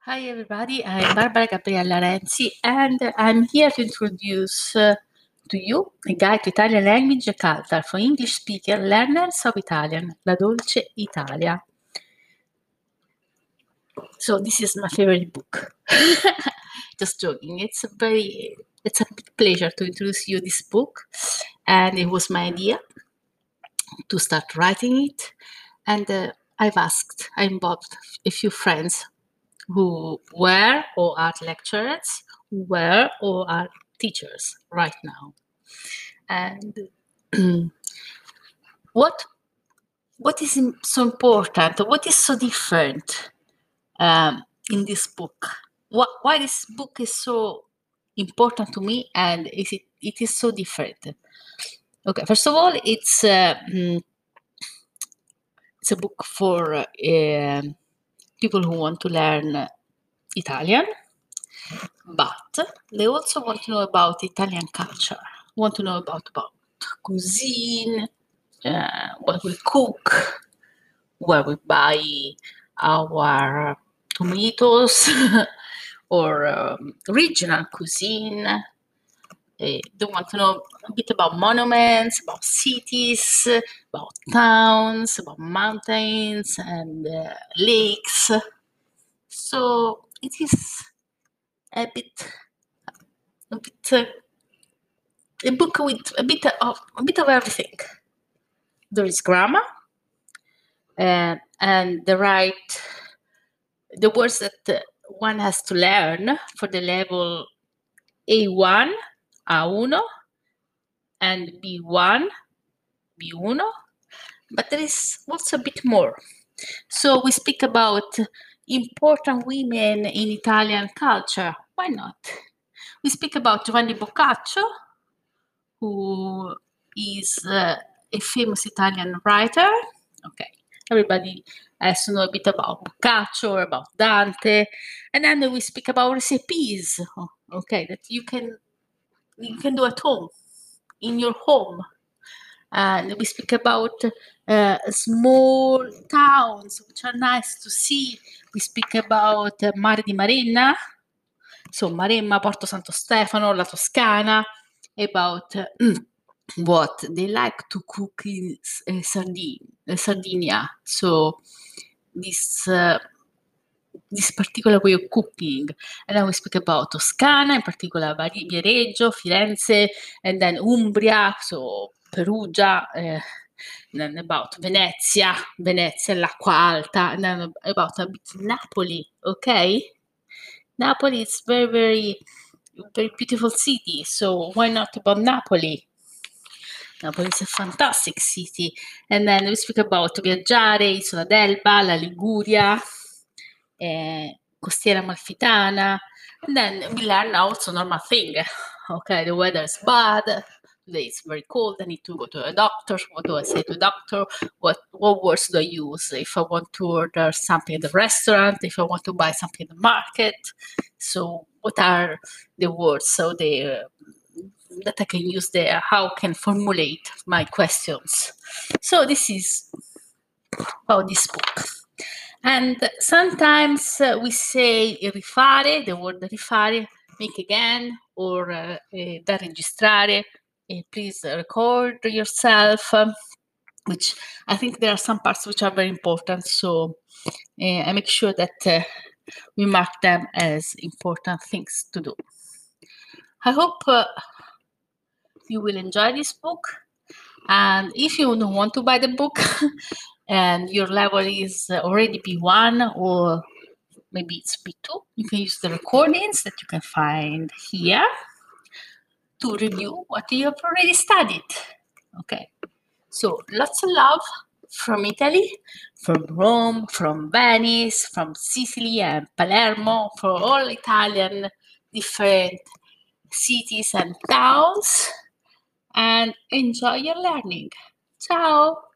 Hi everybody, I'm Barbara Gabriella Renzi and I'm here to introduce to you a guide to Italian language and culture for English speaker learners of Italian, La Dolce Italia. So this is my favorite book. Just joking. It's a big pleasure to introduce you this book, and it was my idea to start writing it. And I involved a few friends who were or are lecturers, who were or are teachers right now. And what is so important? What is so different in this book? Why this book is so important to me, and it is so different? Okay, first of all, it's a book for people who want to learn Italian, but they also want to know about Italian culture, want to know about cuisine, what we cook, where we buy our tomatoes, or regional cuisine. They want to know a bit about monuments, about cities, about towns, about mountains and lakes. So it is a book with a bit of everything. There is grammar, and the words that one has to learn for the level A1, A1, and B1, B1. But there is also a bit more. So we speak about important women in Italian culture. Why not? We speak about Giovanni Boccaccio, who is a famous Italian writer. Okay, everybody has to know a bit about Boccaccio or about Dante. And then we speak about recipes, okay, that you can do at home, in your home. And we speak about small towns, which are nice to see. We speak about Mare di Maremma, so Maremma, Porto Santo Stefano, La Toscana, about what they like to cook in Sardinia. So this particular way of cooking. And then we speak about Toscana, in particular Viareggio, Firenze, and then Umbria, so Perugia, then about Venezia, l'Acqua Alta, and then about a bit Napoli, okay? Napoli is very, very, very beautiful city, so why not about Napoli? Napoli is a fantastic city. And then we speak about Viaggiare, Isola d'Elba, la Liguria, Costiera Amalfitana, and then we learn also normal thing. Okay, the weather is bad. Today it's very cold. I need to go to a doctor. What do I say to the doctor? What words do I use if I want to order something at the restaurant? If I want to buy something at the market? So what are the words that I can use there? How I can formulate my questions? So this is about this book. And sometimes we say rifare, the word rifare, make again, or da registrare, please record yourself, which I think there are some parts which are very important. So I make sure that we mark them as important things to do. I hope you will enjoy this book. And if you don't want to buy the book and your level is already B1 or maybe it's B2, you can use the recordings that you can find here to review what you have already studied. Okay, so lots of love from Italy, from Rome, from Venice, from Sicily and Palermo, for all Italian different cities and towns, and enjoy your learning. Ciao!